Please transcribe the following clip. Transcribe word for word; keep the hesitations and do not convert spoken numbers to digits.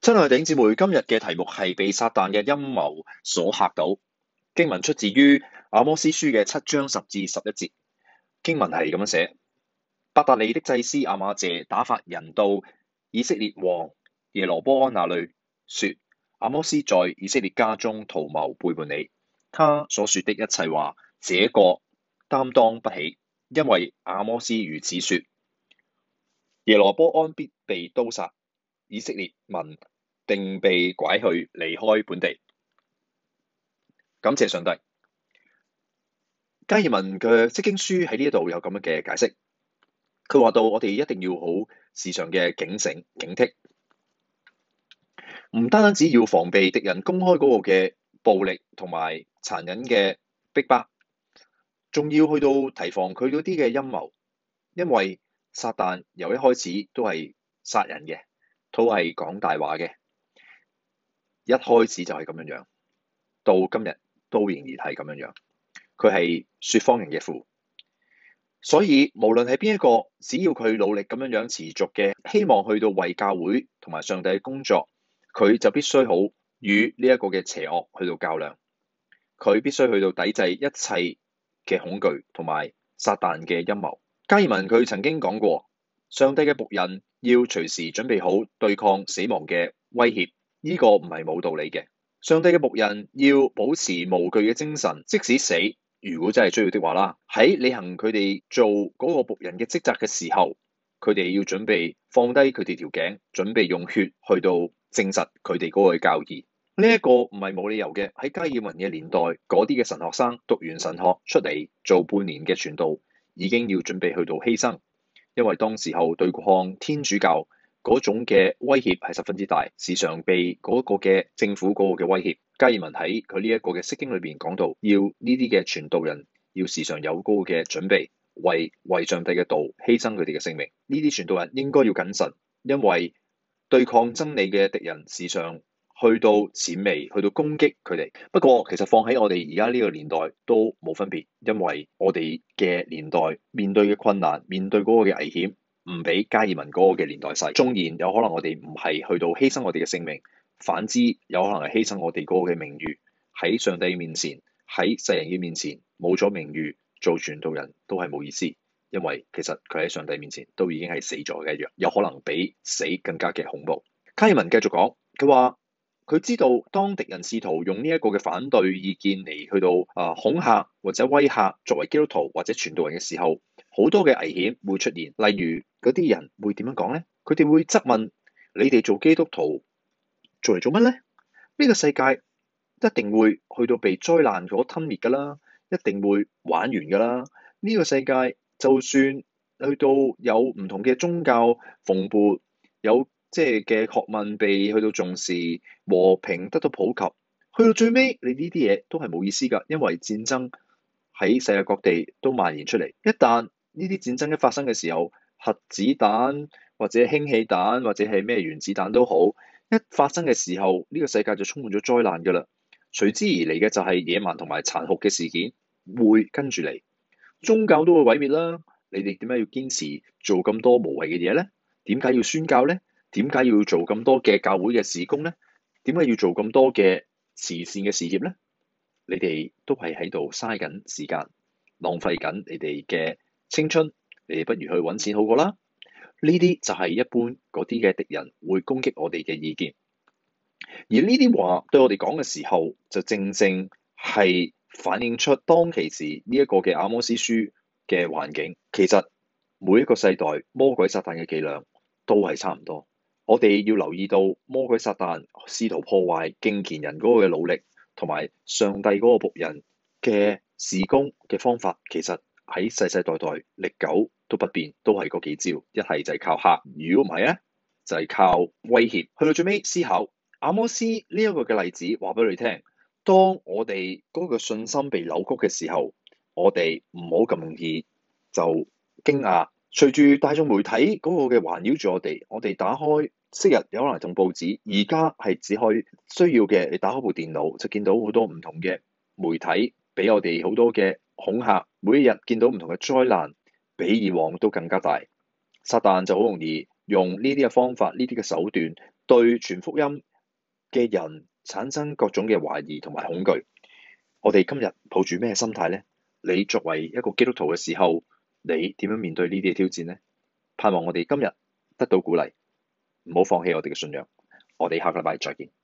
親愛的弟兄姊妹，今日嘅題目係被撒旦嘅陰謀所嚇倒。經文出自於阿摩司書嘅七章十至十一節。經文係咁樣寫：伯特利的祭司亞瑪謝打發人到以色列王耶羅波安那裏，說：阿摩司在以色列家中圖謀背叛你，他所說的一切話，這個擔當不起，因為阿摩司如此說：耶羅波安必被刀殺，以色列民定被拐去離開本地。感謝上帝。加爾文嘅釋經書喺呢一度有咁樣嘅解釋，佢話到我哋一定要好時常嘅警醒警惕，唔單單只要防備敵人公開嗰個嘅暴力同埋殘忍嘅逼迫，仲要去到提防佢嗰啲嘅陰謀，因為撒旦由一開始都係殺人嘅，都係講大話嘅，一開始就係咁樣樣，到今日都仍然係咁樣樣。佢係說謊人嘅父，所以無論係邊一個，只要佢努力咁樣樣持續嘅希望去到為教會同埋上帝嘅工作，佢就必須好與呢一個嘅邪惡去到較量，佢必須去到抵制一切嘅恐懼同埋撒旦嘅陰謀。加爾文佢曾經講過，上帝嘅僕人要隨時準備好對抗死亡嘅威脅，呢個唔係冇道理嘅。上帝嘅僕人要保持無懼嘅精神，即使死，如果真係需要的話啦，喺履行佢哋做嗰個僕人嘅職責嘅時候，佢哋要準備放低佢哋條頸，準備用血去到證實佢哋嗰個教義。呢一個唔係冇理由嘅。喺加爾文嘅年代，嗰啲嘅神學生讀完神學出嚟做半年嘅傳道，已經要準備去到犧牲，因為當時候對抗天主教嗰種嘅威脅係十分之大，時常被嗰個嘅政府嗰個嘅威脅。加爾文喺佢呢一個嘅釋經裏邊講到，要呢啲嘅傳道人要時常有嗰個嘅準備，為為上帝嘅道犧牲佢哋嘅性命。呢啲傳道人應該要謹慎，因為對抗真理嘅敵人時常去到諂媚，去到攻擊佢哋。不過其實放喺我哋而家呢個年代都冇分別，因為我哋嘅年代面對嘅困難，面對嗰個嘅危險，唔比加爾文嗰個嘅年代細。縱然有可能我哋唔係去到犧牲我哋嘅性命，反之有可能係犧牲我哋嗰個嘅名譽，喺上帝面前，喺世人嘅面前冇咗名譽，做傳道人都係冇意思，因為其實佢喺上帝面前都已經係死咗嘅一樣，有可能比死更加嘅恐怖。加爾文繼續講，佢話佢知道當敵人試圖用呢一個嘅反對意見嚟去到啊恐嚇或者威嚇作為基督徒或者傳道人嘅時候，好多嘅危險會出現。例如嗰啲人會點樣講呢？佢哋會質問你哋做基督徒做嚟做乜呢？呢個世界一定會去到被災難所吞滅㗎啦，一定會玩完㗎啦。呢個世界就算去到有唔同嘅宗教蓬勃，有即係嘅學問被去到重視，和平得到普及，去到最尾你呢啲嘢都係冇意思㗎，因為戰爭喺世界各地都蔓延出嚟。一旦呢啲戰爭一發生嘅時候，核子彈或者氫氣彈或者係咩原子彈都好，一發生嘅時候，呢個世界就充滿咗災難㗎啦。隨之而嚟嘅就係野蠻同埋殘酷嘅事件會跟住嚟，宗教都會毀滅啦。你哋點解要堅持做咁多無謂嘅嘢咧？點解要宣教咧？點解要做咁多嘅教會嘅事工咧？點解要做咁多嘅慈善嘅事業咧？你哋都係喺度嘥緊時間，浪費緊你哋嘅青春，你哋不如去揾錢好過啦。呢啲就係一般嗰啲嘅敵人會攻擊我哋嘅意見，而呢啲話對我哋講嘅時候，就正正係反映出當其時呢一個嘅阿摩司書嘅環境。其實每一個世代魔鬼撒旦嘅伎倆都係差唔多。我哋要留意到魔鬼撒旦試圖破壞敬虔人嗰個嘅努力，同埋上帝嗰個僕人嘅事工嘅方法，其實喺世世代代歷久都不變，都係嗰幾招。一係就係靠嚇，如果唔係咧，就係靠威脅。去到最尾思考阿摩司呢一個嘅例子，話俾你聽，當我哋嗰個信心被扭曲嘅時候，我哋唔好咁容易就驚訝。隨住大眾媒體嗰個嘅環繞住我哋，我哋打開昔日有可能同報紙，而家係只可以需要嘅，你打開部電腦就見到好多唔同嘅媒體俾我哋好多嘅恐嚇，每一日見到唔同嘅災難，比以往都更加大。撒旦就好容易用呢啲嘅方法、呢啲嘅手段對傳福音嘅人產生各種嘅懷疑同埋恐懼。我哋今日抱住咩心態呢？你作為一個基督徒嘅時候，你點樣面對呢啲嘅挑戰呢？盼望我哋今日得到鼓勵，唔好放棄我哋嘅信仰。我哋下個禮拜再見。